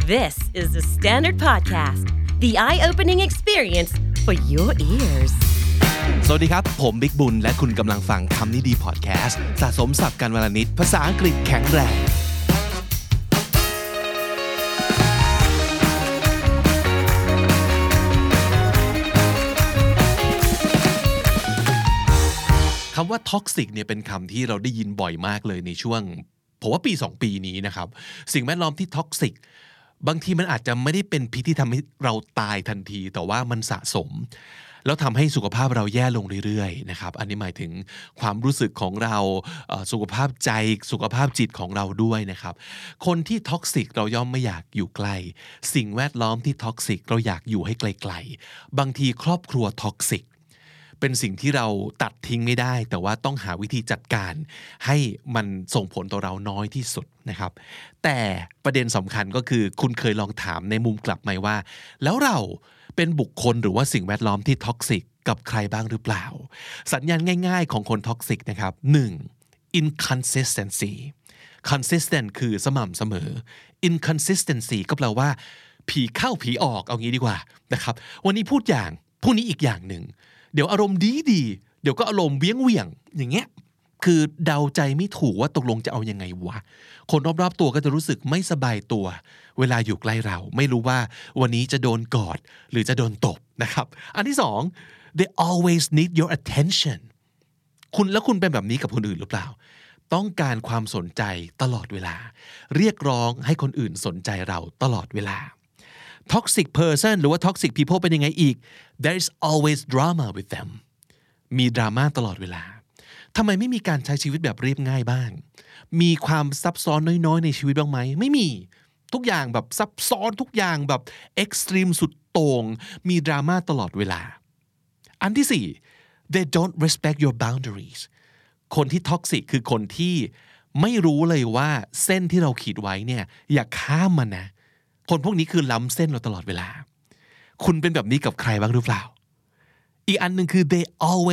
This is the Standard Podcast, the eye-opening experience for your ears. สวัสดีครับผมบิ๊กบุญและคุณกำลังฟังคำนี้ดีพอดแคสต์สะสมศัพท์กันวลนิดภาษาอังกฤษแข็งแรงคำว่า toxic เนี่ยเป็นคำที่เราได้ยินบ่อยมากเลยในช่วงผมว่าปี2ปีนี้นะครับสิ่งแวดล้อมที่ toxic บางทีมันอาจจะไม่ได้เป็นพิษที่ทำให้เราตายทันทีแต่ว่ามันสะสมแล้วทำให้สุขภาพเราแย่ลงเรื่อยๆนะครับอันนี้หมายถึงความรู้สึกของเราสุขภาพใจสุขภาพจิตของเราด้วยนะครับคนที่ท็อกซิกเราย่อมไม่อยากอยู่ใกล้สิ่งแวดล้อมที่ท็อกซิกเราอยากอยู่ให้ไกลๆบางทีครอบครัวท็อกซิกเป็นสิ่งที่เราตัดทิ้งไม่ได้แต่ว่าต้องหาวิธีจัดการให้มันส่งผลต่อเราน้อยที่สุดนะครับแต่ประเด็นสำคัญก็คือคุณเคยลองถามในมุมกลับไหมว่าแล้วเราเป็นบุคคลหรือว่าสิ่งแวดล้อมที่ท็อกซิกกับใครบ้างหรือเปล่าสัญญาณง่ายๆของคนท็อกซิกนะครับ 1. inconsistency consistent คือสม่ำเสมอ inconsistency ก็แปลว่าผีเข้าผีออกเอางี้ดีกว่านะครับวันนี้พูดอย่างพรุ่งนี้อีกอย่างหนึ่งเดี๋ยวอารมณ์ดีเดี๋ยวก็อารมณ์เวียงอย่างเงี้ยคือเดาใจไม่ถูกว่าตกลงจะเอายังไงวะคนรอบๆตัวก็จะรู้สึกไม่สบายตัวเวลาอยู่ใกล้เราไม่รู้ว่าวันนี้จะโดนกอดหรือจะโดนตบนะครับอันที่สอง they always need your attention คุณเป็นแบบนี้กับคนอื่นหรือเปล่าต้องการความสนใจตลอดเวลาเรียกร้องให้คนอื่นสนใจเราตลอดเวลาtoxic person หรือว่า toxic people เป็นยังไงอีก there is always drama with them มีดราม่าตลอดเวลาทำไมไม่มีการใช้ชีวิตแบบเรียบง่ายบ้างมีความซับซ้อนน้อยๆในชีวิตบ้างไหมไม่มีทุกอย่างแบบซับซ้อนทุกอย่างแบบเอ็กซ์ตรีมสุดโต่งมีดราม่าตลอดเวลาอันที่สี่ they don't respect your boundaries คนที่ toxic คือคนที่ไม่รู้เลยว่าเส้นที่เราขีดไว้เนี่ยอย่าข้ามมันนะคนพวกนี้คือล้ำเส้นเราตลอดเวลาคุณเป็นแบบนี้กับใครบ้างหรือเปล่าอีกอันหนึ่งคือ they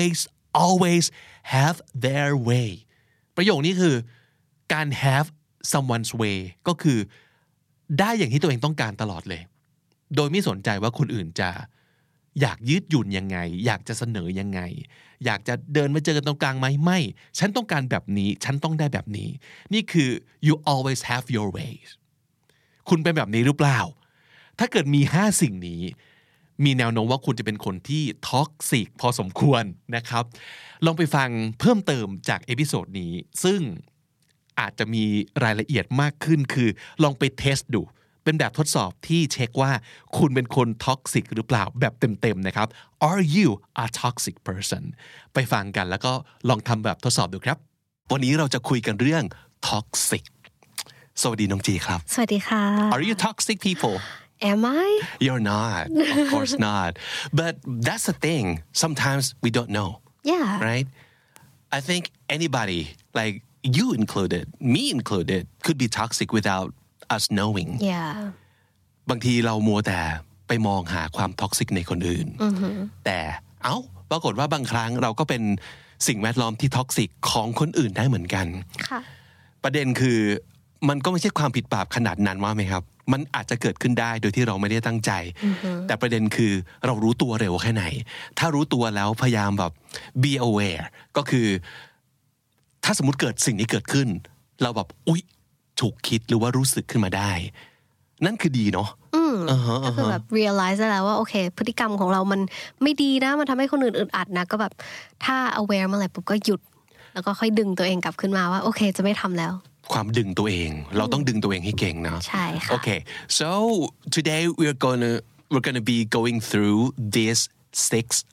always have their way ประโยคนี้คือการ have someone's way ก็คือได้อย่างที่ตัวเองต้องการตลอดเลยโดยไม่สนใจว่าคนอื่นจะอยากยืดหยุ่นยังไงอยากจะเสนอยังไงอยากจะเดินมาเจอกันตรงกลางไหมไม่ฉันต้องการแบบนี้ฉันต้องได้แบบนี้นี่คือ you always have your waysคุณเป็นแบบนี้หรือเปล่าถ้าเกิดมี5สิ่งนี้มีแนวโน้มว่าคุณจะเป็นคนที่ท็อกซิกพอสมควรนะครับลองไปฟังเพิ่มเติมจากเอพิโซดนี้ซึ่งอาจจะมีรายละเอียดมากขึ้นคือลองไปเทสดูเป็นแบบทดสอบที่เช็คว่าคุณเป็นคนท็อกซิกหรือเปล่าแบบเต็มๆนะครับ Are you a toxic person ไปฟังกันแล้วก็ลองทำแบบทดสอบดูครับวันนี้เราจะคุยกันเรื่อง toxicสวัสดีน้องจีครับสวัสดีค่ะ Are you toxic people? Am I? You're not. Of course not. But that's the thing. Sometimes we don't know. Yeah. Right? I think anybody, like you included, me included, could be toxic without us knowing. Yeah. บางทีเรามัวแต่ไปมองหาความท็อกซิกในคนอื่น แต่ปรากฏว่าบางครั้งเราก็เป็นสิ่งแวดล้อมที่ท็อกซิกของคนอื่นได้เหมือนกันค่ะประเด็นคือมันก็ไม่ใช่ความผิดบาปขนาดนั้นว่าไหมครับมันอาจจะเกิดขึ้นได้โดยที่เราไม่ได้ตั้งใจแต่ประเด็นคือเรารู้ตัวเร็วแค่ไหนถ้ารู้ตัวแล้วพยายามแบบ be aware ก็คือถ้าสมมุติเกิดสิ่งนี้เกิดขึ้นเราแบบอุ๊ยถูกคิดหรือว่ารู้สึกขึ้นมาได้นั่นคือดีเนาะก็คือแบบ realize ได้แล้วว่าโอเคพฤติกรรมของเรามันไม่ดีนะมันทำให้คนอื่นอึดอัดนะก็แบบถ้า aware เมื่อไหร่ปุ๊บก็หยุดแล้วก็ค่อยดึงตัวเองกลับขึ้นมาว่าโอเคจะไม่ทำแล้วความดึงตัวเองเราต้องดึงตัวเองให้เก่งนะใช่ค่ะ Okay so today we're gonna be going through these 6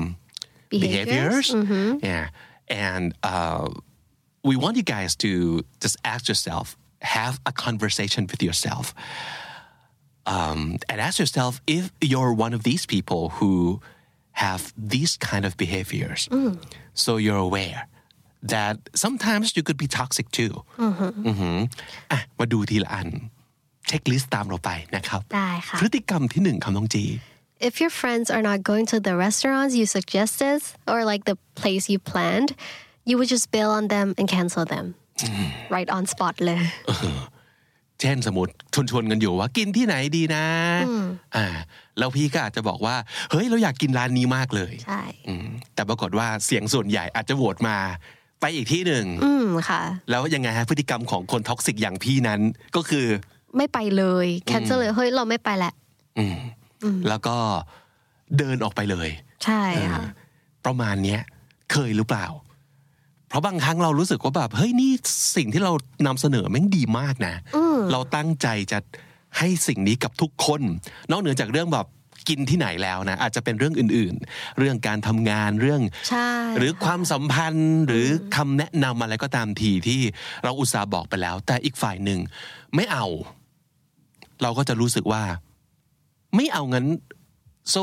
behaviors yeah and we want you guys to just ask yourself have a conversation with yourself and ask yourself if you're one of these people who have these kind of behaviors so you're aware that sometimes you could be toxic too มาดูทีละอันเช็คลิสต์ตามเราไปนะครับได้ค่ะพฤติกรรมที่1คำน้องจี If your friends are not going to the restaurants you suggested or like the place you planned you would just bail on them and cancel them right on spot เลยเช่นสมมติชวนกันอยู่ว่ากินที่ไหนดีนะแล้วพี่ก็อาจจะบอกว่าเฮ้ยเราอยากกินร้านนี้มากเลยใช่แต่ปรากฏว่าเสียงส่วนใหญ่อาจจะโหวตมาไปอีกที่หนึ่งค่ะแล้วยังไงฮะพฤติกรรมของคนท็อกซิกอย่างพี่นั้นก็คือไม่ไปเลยแคนเซิลเลยเฮ้ยเราไม่ไปแหละแล้วก็เดินออกไปเลยใช่ค่ะประมาณเนี้ยเคยหรือเปล่าเพราะบางครั้งเรารู้สึกว่าแบบเฮ้ยนี่สิ่งที่เรานำเสนอแม่งดีมากนะเราตั้งใจจะให้สิ่งนี้กับทุกคนนอกเหนือจากเรื่องแบบกินที่ไหนแล้วนะอาจจะเป็นเรื่องอื่นๆเรื่องการทำงานเรื่องหรือความสัมพันธ์หรือคำแนะนำอะไรก็ตามทีที่เราอุตส่าห์บอกไปแล้วแต่อีกฝ่ายหนึ่งไม่เอาเราก็จะรู้สึกว่าไม่เอางั้น so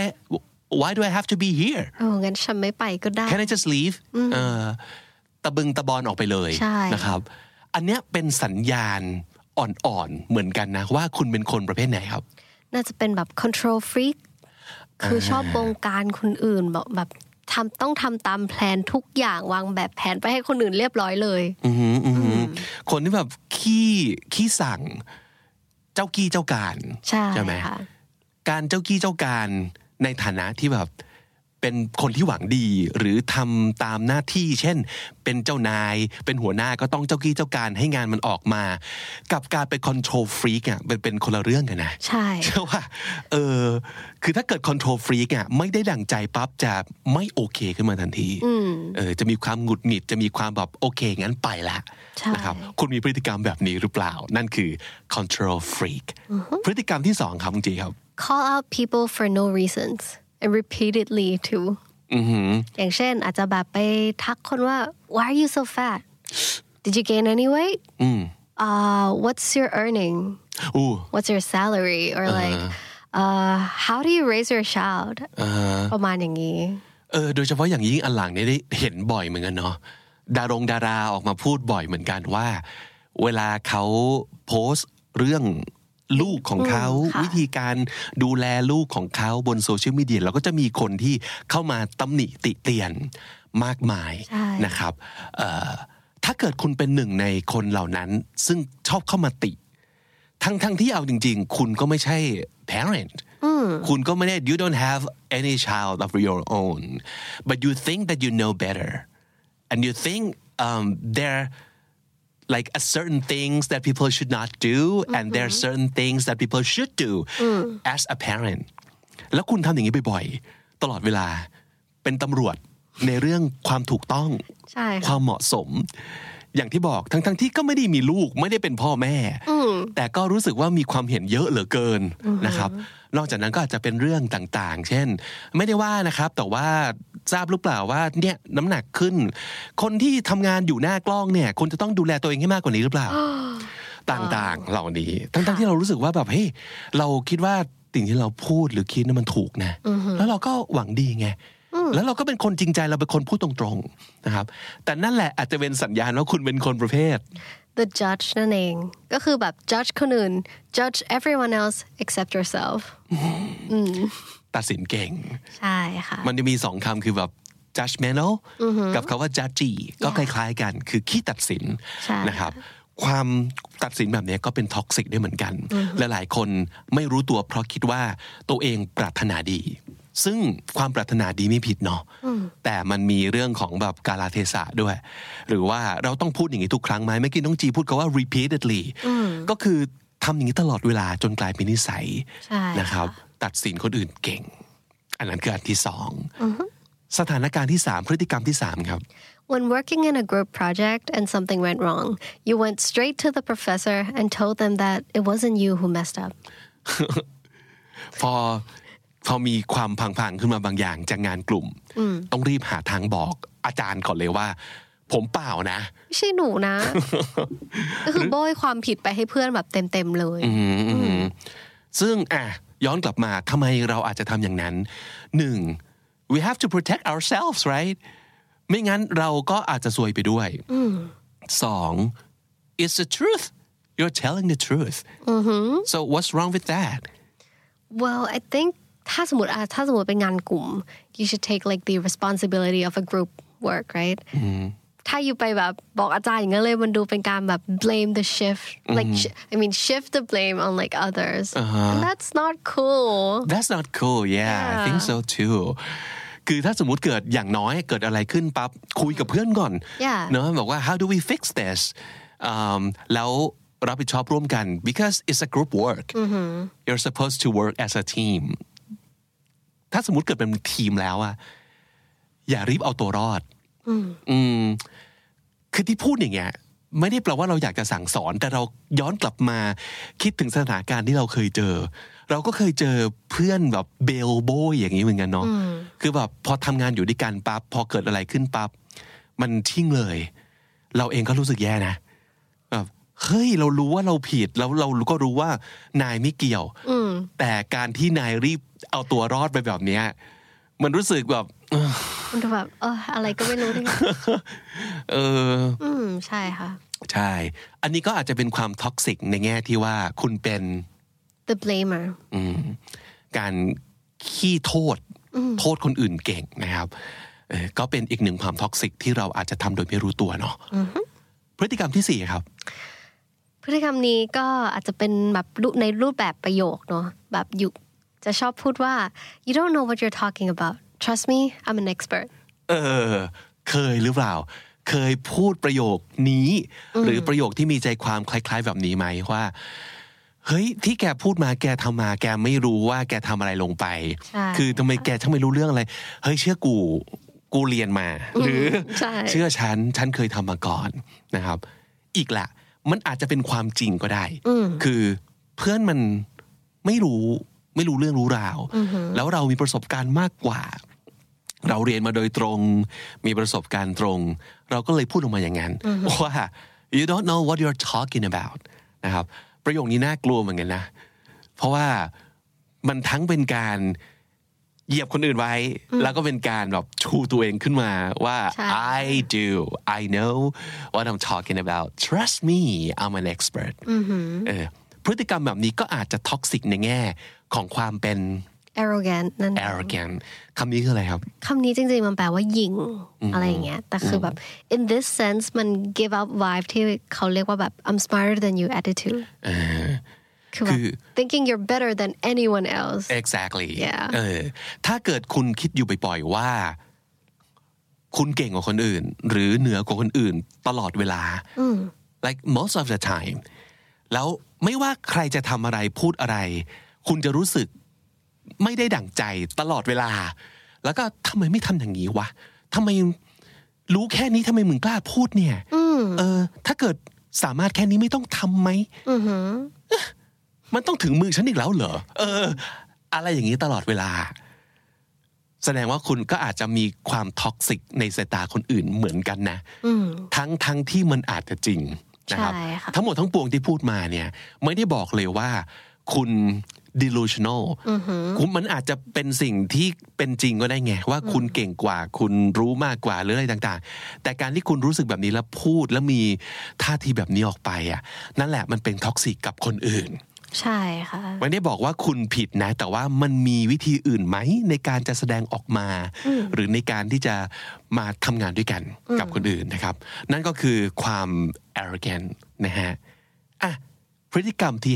why do I have to be here งั้นฉันไม่ไปก็ได้ Can I just leave ตะบึงตะบอนออกไปเลยนะครับอันเนี้ยเป็นสัญญาณอ่อนๆเหมือนกันนะว่าคุณเป็นคนประเภทไหนครับน่าจะเป็นแบบ control freak คือชอบบงการคนอื่นแบบต้องทำตามแผนทุกอย่างวางแบบแผนไปให้คนอื่นเรียบร้อยเลยคนที่แบบขี้สั่งเจ้ากี้เจ้าการใช่ไหมการเจ้ากี้เจ้าการในฐานะที่แบบเป็นคนที่หวังดีหรือทำตามหน้าที่เช่นเป็นเจ้านายเป็นหัวหน้าก็ต้องเจ้ากี้เจ้าการให้งานมันออกมากับการเป็น control freak อ่ะเป็นคนละเรื่องกันนะใช่ใช่ว่าคือถ้าเกิด control freak อ่ะไม่ได้ดั่งใจปั๊บจะไม่โอเคขึ้นมาทันทีจะมีความหงุดหงิดจะมีความแบบโอเคงั้นไปละนะครับคุณมีพฤติกรรมแบบนี้หรือเปล่านั่นคือ control freak พฤติกรรมที่2ครับจริงๆครับ call out people for no reasons and repeatedly too อย่างเช่นอาจจะแบบไปทักคนว่า why are you so fat did you gain any weight what's your earning what's your salary or like how do you raise your child ประมาณอย่างนี้โดยเฉพาะอย่างยิ่งอันหลังนี้ได้เห็นบ่อยเหมือนกันเนาะดาราออกมาพูดบ่อยเหมือนกันว่าเวลาเขาโพสต์เรื่องลูกของเขาวิธีการดูแลลูกของเขาบนโซเชียลมีเดียเราก็จะมีคนที่เข้ามาตำหนิติเตียนมากมายนะครับถ้าเกิดคุณเป็นหนึ่งในคนเหล่านั้นซึ่งชอบเข้ามาติทั้งที่เอาจริงๆคุณก็ไม่ใช่ parent คุณก็ไม่ได้ you don't have any child of your own but you think that you know better and you think they're like a certain things that people should not do and there are certain things that people should do as a parent แล้วคุณทำอย่างนี้บ่อยๆตลอดเวลาเป็นตำรวจในเรื่องความถูกต้องความเหมาะสมอย่างที่บอกทั้งที่ก็ไม่ได้มีลูกไม่ได้เป็นพ่อแม่แต่ก็รู้สึกว่ามีความเห็นเยอะเหลือเกินนะครับนอกจากนั้นก็อาจจะเป็นเรื่องต่างๆเช่นไม่ได้ว่านะครับแต่ว่าทราบหรือเปล่าว่าเนี่ยน้ำหนักขึ้นคนที่ทำงานอยู่หน้ากล้องเนี่ยคนจะต้องดูแลตัวเองให้มากกว่านี้หรือเปล่าต่างๆเหล่านี้ทั้งที่เรารู้สึกว่าแบบเฮ้ยเราคิดว่าสิ่งที่เราพูดหรือคิดนั้นมันถูกนะแล้วเราก็หวังดีไงแล้วเราก็เป็นคนจริงใจเราเป็นคนพูดตรงๆนะครับแต่นั่นแหละอาจจะเป็นสัญญาณว่าคุณเป็นคนประเภท the judge นั่นเองก็คือแบบ judge คนอื่น judge everyone else except yourself ตัดสินเก่งใช่ค่ะมันจะมี2คำคือแบบ judgmental กับคำว่า judgy ก็คล้ายๆกันคือขี้ตัดสินนะครับความตัดสินแบบนี้ก็เป็นท็อกซิกได้เหมือนกันและหลายคนไม่รู้ตัวเพราะคิดว่าตัวเองปรารถนาดีซึ่งความปรารถนาดีไม่ผิดเนาะแต่มันมีเรื่องของแบบกาลเทศะด้วยหรือว่าเราต้องพูดอย่างนี้ทุกครั้งไหมเมื่อกี้น้องจีพูดคำว่า repeatedly ก็คือทำอย่างนี้ตลอดเวลาจนกลายเป็นนิสัยนะครับตัดสินคนอื่นเก่งอันนั้นคืออันที่2สถานการณ์ที่3พฤติกรรมที่3ครับ When working in a group project and something went wrong, you went straight to the professor and told them that it wasn't you who messed up. พอมีความพังๆขึ้นมาบางอย่างจากงานกลุ่มต้องรีบหาทางบอกอาจารย์ก่อนเลยว่าผมเปล่านะไม่ใช่หนูนะ ก็คือโบยความผิดไปให้เพื่อนแบบเต็มๆเลยซึ่งย้อนกลับมาทำไมเราอาจจะทำอย่างนั้น 1. we have to protect ourselves rightไม่งั้นเราก็อาจจะซวยไปด้วย 2. it's the truth you're telling the truth so what's wrong with that well I think ถ้าสมมติเป็นงานกลุ่ม you should take like the responsibility of a group work right ถ้าอยู่ไปแบบบอกอาจารย์อย่างนั้นเลยมันดูเป็นการแบบ blame the shift like I mean shift the blame on like others and that's not cool I think so too คือถ้าสมมุติเกิดอย่างน้อยเกิดอะไรขึ้นปั๊บคุยกับเพื่อนก่อนเนอะบอกว่า how do we fix this แล้วรับผิดชอบร่วมกัน because it's a group work you're supposed to work as a team ถ้าสมมุติเกิดเป็นทีมแล้วอะอย่ารีบเอาตัวรอดคือที่พูดอย่างเงี้ยไม่ได้แปลว่าเราอยากจะสั่งสอนแต่เราย้อนกลับมาคิดถึงสถานการณ์ที่เราเคยเจอเราก็เคยเจอเพื่อนแบบเบลโบยอย่างนี้เหมือนกันเนาะคือแบบพอทำงานอยู่ด้วยกันปั๊บพอเกิดอะไรขึ้นปั๊บมันทิ้งเลยเราเองก็รู้สึกแย่นะแบบเฮ้ยเรารู้ว่าเราผิดแล้วเราก็รู้ว่านายไม่เกี่ยวแต่การที่นายรีบเอาตัวรอดไปแบบเนี้ยมันรู้สึกแบบมันแบบอะไรก็ไม่รู้ด้วยใช่ค่ะใช่อันนี้ก็อาจจะเป็นความท็อกซิกในแง่ที่ว่าคุณเป็น the blamer การขี้โทษคนอื่นเก่งนะครับก็เป็นอีกหนึ่งความท็อกซิกที่เราอาจจะทำโดยไม่รู้ตัวเนาะพฤติกรรมที่4ครับพฤติกรรมนี้ก็อาจจะเป็นแบบในรูปแบบประโยคเนาะแบบอยู่จะชอบพูดว่า you don't know what you're talking about trust me I'm an expert เคยหรือเปล่าเคยพูดประโยคนี้หรือประโยคที่มีใจความคล้ายๆแบบนี้ไหมว่าเฮ้ยที่แกพูดมาแกทำมาแกไม่รู้ว่าแกทำอะไรลงไปคือทำไมแกช่างไม่รู้เรื่องอะไรเฮ้ยเชื่อกูเรียนมาหรือเชื่อฉันเคยทำมาก่อนนะครับอีกละมันอาจจะเป็นความจริงก็ได้คือเพื่อนมันไม่รู้เรื่องรู้ราวแล้วเรามีประสบการณ์มากกว่าเราเรียนมาโดยตรงมีประสบการณ์ตรงเราก็เลยพูดออกมาอย่างนั้นว่า you don't know what you're talking about นะครับประโยคนี้น่ากลัวเหมือนกันนะเพราะว่ามันทั้งเป็นการเหยียบคนอื่นไว้แล้วก็เป็นการแบบชูตัวเองขึ้นมาว่า I know what I'm talking about trust me I'm an expert พฤติกรรมแบบนี้ก็อาจจะท็อกซิกในแง่ของความเป็น arrogant นั่น arrogant คำนี้คืออะไรครับคำนี้จริงๆมันแปลว่าหยิ่งอะไรอย่างเงี้ยแต่คือแบบ in this sense มัน give out vibe ที่เขาเรียกว่าแบบ I'm smarter than you attitude คือแบบ thinking you're better than anyone else exactly ถ้าเกิดคุณคิดอยู่บ่อยๆว่าคุณเก่งกว่าคนอื่นหรือเหนือกว่าคนอื่นตลอดเวลา like most of the time แล้วไม่ว่าใครจะทำอะไรพูดอะไรคุณจะรู้สึกไม่ได้ดั่งใจตลอดเวลาแล้วก็ทำไมไม่ทำอย่างนี้วะทำไมรู้แค่นี้ทำไมมึงกล้าพูดเนี่ยถ้าเกิดสามารถแค่นี้ไม่ต้องทำไหมมันต้องถึงมือฉันอีกแล้วเหรออะไรอย่างนี้ตลอดเวลาแสดงว่าคุณก็อาจจะมีความท็อกซิกในสายตาคนอื่นเหมือนกันนะทั้งที่มันอาจจะจริงนะครับทั้งหมดทั้งปวงที่พูดมาเนี่ยไม่ได้บอกเลยว่าคุณ delusional คุณมันอาจจะเป็นสิ่งที่เป็นจริงก็ได้ไงว่าคุณเก่งกว่าคุณรู้มากกว่าหรืออะไรต่างๆแต่การที่คุณรู้สึกแบบนี้แล้วพูดแล้วมีท่าทีแบบนี้ออกไปอ่ะนั่นแหละมันเป็นท็อกซิกกับคนอื่นใช่ค่ะไม่ได้บอกว่าคุณผิดนะแต่ว่ามันมีวิธีอื่นไหมในการจะแสดงออกมาหรือในการที่จะมาทำงานด้วยกันกับคนอื่นนะครับนั่นก็คือความ arrogant นะฮะพฤติกรรมที่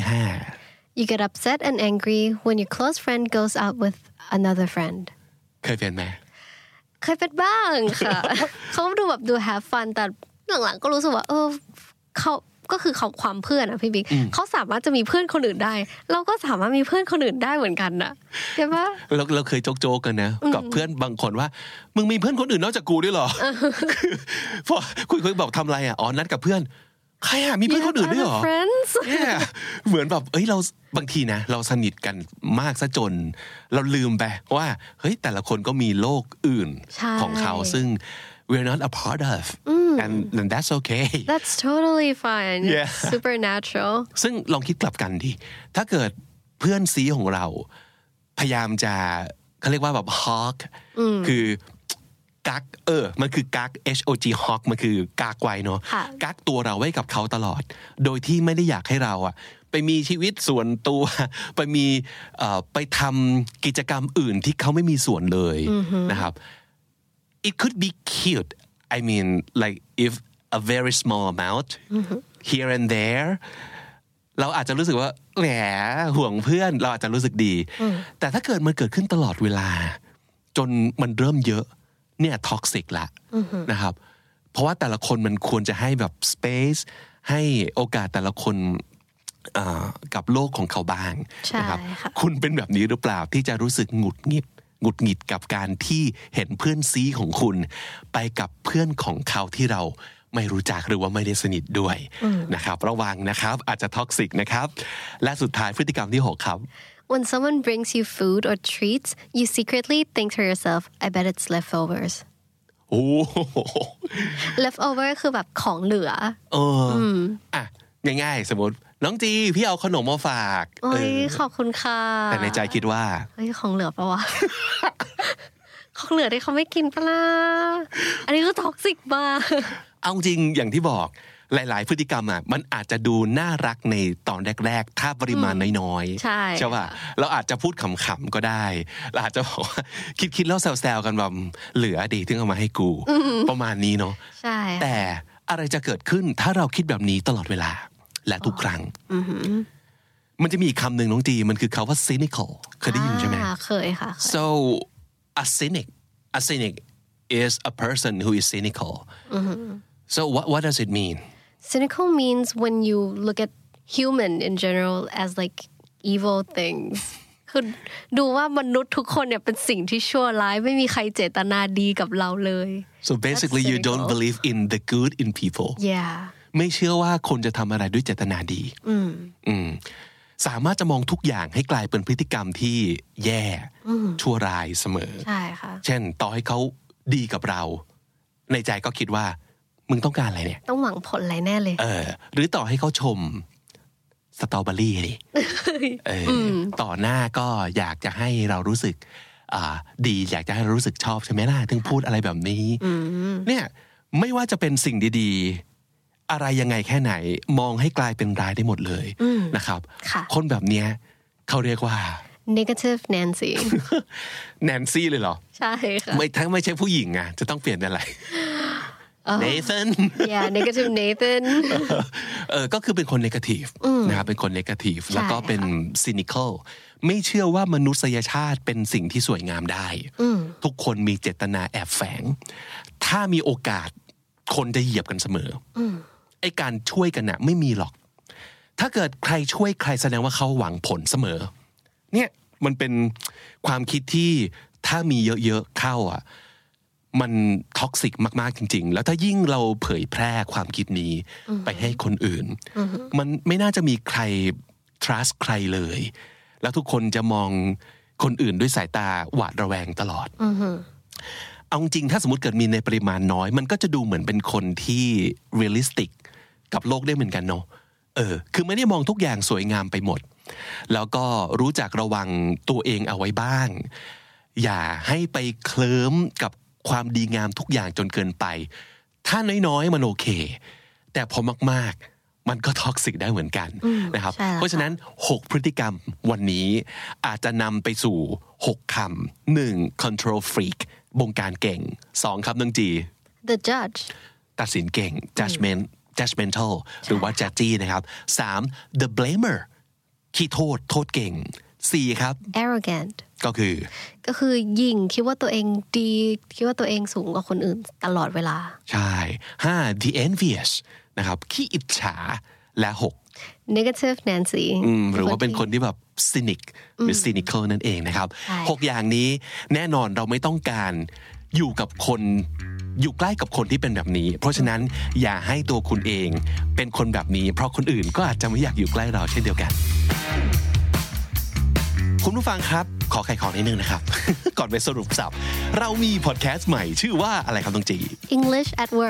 5 You get upset and angry when your close friend goes out with another friend เคยเป็นไหมเคยเป็นบ้างค่ะ เขาดูแบบดู have fun แต่หลังๆก็รู้สึกว่าเขาก็คือเขาความเพื่อนอะพี่บิ๊กเขาสามารถจะมีเพื่อนคนอื่นได้เราก็สามารถมีเพื่อนคนอื่นได้เหมือนกันนะใช่ปะเราเคยโจกๆกันนะกับเพื่อนบางคนว่ามึงมีเพื่อนคนอื่นนอกจากกูด้วยเหรอพอคุยบอกทำอะไรอ่ะนัดกับเพื่อนใครอ่ะมีเพื่อนคนอื่นด้วยเหรอเหมือนแบบเราบางทีนะเราสนิทกันมากซะจนเราลืมไปว่าเฮ้ยแต่ละคนก็มีโลกอื่นของเขาซึ่ง we're not a part of and that's okay that's totally fine super natural ซึ่งลองคิดกลับกันดิถ้าเกิดเพื่อนซีของเราพยายามจะเขาเรียกว่าแบบ hawk คือกักมันคือกัก HOG hawk มันคือกักไว้เนาะกักตัวเราไว้กับเขาตลอดโดยที่ไม่ได้อยากให้เราอะไปมีชีวิตส่วนตัวไปทำกิจกรรมอื่นที่เขาไม่มีส่วนเลยนะครับ It could be cute I mean like if a very small amount here and there เราอาจจะรู้สึกว่าแหมห่วงเพื่อนเราอาจจะรู้สึกดีแต่ถ้าเกิดมันเกิดขึ้นตลอดเวลาจนมันเริ่มเยอะเนี่ยท็อกซิกละนะครับเพราะว่าแต่ละคนมันควรจะให้แบบ space ให้โอกาสแต่ละคนกับโลกของเขาบ้างนะครับคุณเป็นแบบนี้หรือเปล่าที่จะรู้สึกหงุดหงิดกับการที่เห็นเพื่อนซีของคุณไปกับเพื่อนของเขาที่เราไม่รู้จักหรือว่าไม่ได้สนิทด้วยนะครับระวังนะครับอาจจะท็อกซิกนะครับและสุดท้ายพฤติกรรมที่6ครับ When someone brings you food or treats you secretly think to yourself I bet it's leftovers โอ้ leftover คือแบบของเหลืออ่ะง่ายๆสมมติน้องจีพี่เอาขนมมาฝากขอบคุณค่ะแต่ในใจคิดว่าของเหลือปะวะ ของเหลือที่เขาไม่กินปะล่ะอันนี้ก็ท็อกซิกมากเอาจริงอย่างที่บอกหลายๆพฤติกรรมอ่ะมันอาจจะดูน่ารักในตอนแรกๆถ้าปริมาณน้อยๆใช่ป่ะเราอาจจะพูดขำๆก็ได้เราอาจจะบอกว่าคิดแล้วแซวๆกันแบบเหลือดีถึงเอามาให้กูประมาณนี้เนาะใช่แต่อะไรจะเกิดขึ้นถ้าเราคิดแบบนี้ตลอดเวลาและทุกครั้งมันจะมีคำหนึ่งน้องจีมันคือคำว่า cynical เคยได้ยินใช่ไหมเคยค่ะ so a cynic is a person who is cynical so what does it mean cynical means when you look at human in general as like evil things คือดูว่ามนุษย์ทุกคนเนี่ยเป็นสิ่งที่ชั่วร้ายไม่มีใครเจตนาดีกับเราเลย so basically you don't believe in the good in people yeah ไม่เชื่อว่าคนจะทำอะไรด้วยเจตนาดีสามารถจะมองทุกอย่างให้กลายเป็นพฤติกรรมที่แย่ชั่วร้ายเสมอใช่ค่ะเช่นต่อให้เขาดีกับเราในใจก็คิดว่ามึงต้องการอะไรเนี่ยต้องหวังผลอะไรแน่เลยหรือต่อให้เขาชมสตรอเบอรี่ดิต่อหน้าก็อยากจะให้เรารู้สึกดีอยากจะให้เรารู้สึกชอบใช่ไหมล่ะถึงพูดอะไรแบบนี้เนี่ยไม่ว่าจะเป็นสิ่งดีๆอะไรยังไงแค่ไหนมองให้กลายเป็นร้ายได้หมดเลยนะครับคนแบบเนี้ยเขาเรียกว่า negative Nancy Nancy เลยเหรอใช่ค่ะไม่ใช่ผู้หญิงอ่ะจะต้องเปลี่ยนอะไรNathan yeah negative Nathan ก็คือเป็นคน negative นะครับเป็นคน negative แล้วก็เป็น cynical ไม่เชื่อว่ามนุษยชาติเป็นสิ่งที่สวยงามได้ทุกคนมีเจตนาแอบแฝงถ้ามีโอกาสคนจะเหยียบกันเสมอไอ้การช่วยกันน่ะไม่มีหรอกถ้าเกิดใครช่วยใครแสดงว่าเขาหวังผลเสมอเนี่ยมันเป็นความคิดที่ถ้ามีเยอะๆเข้าอ่ะมันท็อกซิกมากๆจริงๆแล้วถ้ายิ่งเราเผยแพร่ความคิดนี้ไปให้คนอื่นมันไม่น่าจะมีใคร trust ใครเลยแล้วทุกคนจะมองคนอื่นด้วยสายตาหวาดระแวงตลอดเอาจริงถ้าสมมติเกิดมีในปริมาณน้อยมันก็จะดูเหมือนเป็นคนที่ realistic กับโลกได้เหมือนกันเนาะคือไม่ได้มองทุกอย่างสวยงามไปหมดแล้วก็รู้จักระวังตัวเองเอาไว้บ้างอย่าให้ไปเคลิ้มกับความดีงามทุกอย่างจนเกินไปถ้าน้อยๆมันโอเคแต่พอมากๆมันก็ท็อกซิกได้เหมือนกันนะครับเพราะฉะนั้น6พฤติกรรมวันนี้อาจจะนำไปสู่6คำ1 control freak บงการเก่ง2ครับน้องจี the judge ตัดสินเก่ง judgmental หรือว่า judgy นะครับ3 the blamer ขี้โทษเก่ง4ครับ arrogant ก็คือยิ่งคิดว่าตัวเองดีคิดว่าตัวเองสูงกว่าคนอื่นตลอดเวลาใช่5 the envious นะครับขี้อิจฉาและ6 negative Nancy หรือว่าเป็นคนที่แบบ cynic หรือ cynical นั่นเองนะครับ6อย่างนี้แน่นอนเราไม่ต้องการอยู่ใกล้กับคนที่เป็นแบบนี้เพราะฉะนั้นอย่าให้ตัวคุณเองเป็นคนแบบนี้เพราะคนอื่นก็อาจจะไม่อยากอยู่ใกล้เราเช่นเดียวกันคุณผู้ฟังครับขอไขข้อนิดนึงนะครับ ก่อนไปสรุปสับเรามีพอดแคสต์ใหม่ชื่อว่าอะไรครับน้องจี English at Work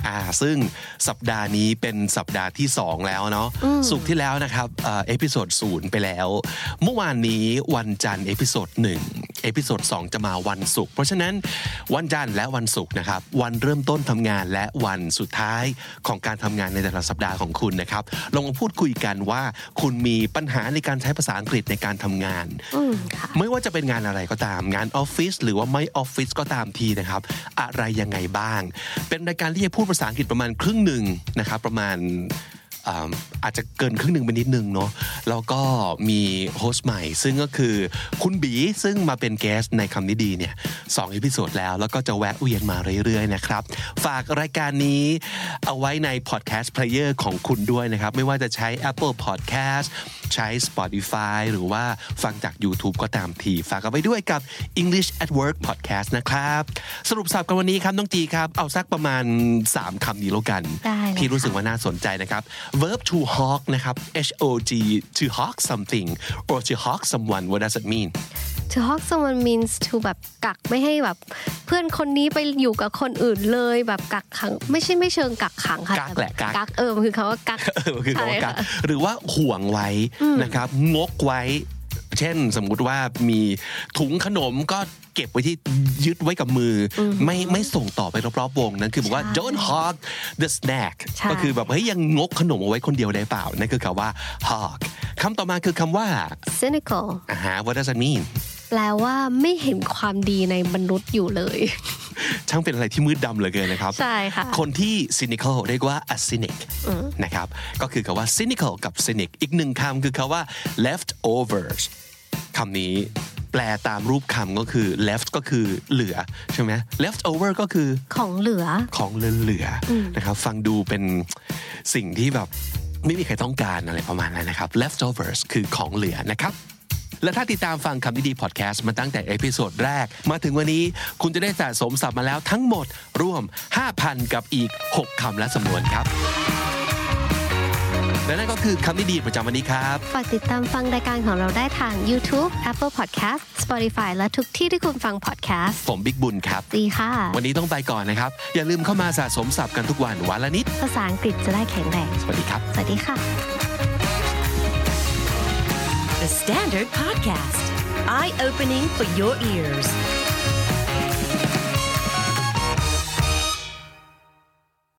ซึ่งสัปดาห์นี้เป็นสัปดาห์ที่2แล้วเนาะศุกร์ที่แล้วนะครับเอพิโซด0ไปแล้วเมื่อวานนี้วันจันทร์เอพิโซด1เอพิโซด2จะมาวันศุกร์เพราะฉะนั้นวันจันทร์และวันศุกร์นะครับวันเริ่มต้นทำงานและวันสุดท้ายของการทำงานในแต่ละสัปดาห์ของคุณนะครับลองมาพูดคุยกันว่าคุณมีปัญหาในการใช้ภาษาอังกฤษในการทำงานไม่ว่าจะเป็นงานอะไรก็ตามงานออฟฟิศหรือว่าไม่ออฟฟิศก็ตามทีนะครับอะไรยังไงบ้างเป็นรายการที่จะพูดภาษาอังกฤษประมาณครึ่งหนึ่งนะครับประมาณอาจจะเกินครึ่งหนึ่งไปนิดนึงเนาะแล้วก็มีโฮสต์ใหม่ซึ่งก็คือคุณบีซึ่งมาเป็นแกสในคำนี้ดีเนี่ย2เอพิโซดแล้วก็จะแวะเวียนมาเรื่อยๆนะครับฝากรายการนี้เอาไว้ในพอดแคสต์เพลเยอร์ของคุณด้วยนะครับไม่ว่าจะใช้ Apple Podcast ใช้ Spotify หรือว่าฟังจาก YouTube ก็ตามทีฝากเอาไว้ด้วยกับ English at Work Podcast นะครับสรุปสับกันวันนี้ครับน้องจีครับเอาสักประมาณ3คำนี้แล้วกันที่รู้สึกว่าน่าสนใจนะครับ verb to hawk นะครับ H-O-G to hawk something or to hawk someone what does it mean to hawk someone means to แบบกักไม่ให้แบบเพื่อนคนนี้ไปอยู่กับคนอื่นเลยแบบกักขังไม่เชิงกักขังค่ะกักแหละกักมันคือคำว่ากักคือคำว่ากักหรือว่าห่วงไว้นะครับงกไว้เช่นสมมุติว่ามีถุงขนมก็เก็บไว้ที่ยึดไว้กับมือไม่ส่งต่อไปรอบๆวงนั้นคือบอกว่า don't hog the snack ก็คือแบบเฮ้ยยังงกขนมเอาไว้คนเดียวได้เปล่านั่นคือคำว่า hog คำต่อมาคือคำว่า cynical what does that mean แปลว่าไม่เห็นความดีในมนุษย์อยู่เลยช่างเป็นอะไรที่มืดดำเหลือเกินนะครับใช่ค่ะคนที่ cynical เรียกว่า a cynic นะครับก็คือคำว่า cynical กับ cynic อีกหนึ่งคำคือคำว่า leftovers คำนี้แปลตามรูปคำก็คือ left ก็คือเหลือใช่ไหม leftover ก็คือของเหลือนะครับฟังดูเป็นสิ่งที่แบบไม่มีใครต้องการอะไรประมาณนั้นนะครับ leftovers คือของเหลือนะครับและถ้าติดตามฟังคำดีๆพอดแคสต์มาตั้งแต่เอพิโซดแรกมาถึงวันนี้คุณจะได้สะสมศัพท์มาแล้วทั้งหมดรวม 5,000 กับอีก6คำและสำนวนครับและนั่นก็คือคำดีๆประจำวันนี้ครับฝากติดตามฟังรายการของเราได้ทาง YouTube Apple Podcast Spotify และทุกที่ที่คุณฟังพอดแคสต์ผมบิ๊กบุญครับดีค่ะวันนี้ต้องไปก่อนนะครับอย่าลืมเข้ามาสะสมศัพท์กันทุกวันวันละนิดภาษาอังกฤษจะได้แข็งแรงสวัสดีครับสวัสดีค่ะ The Standard Podcast Eye Opening for Your Ears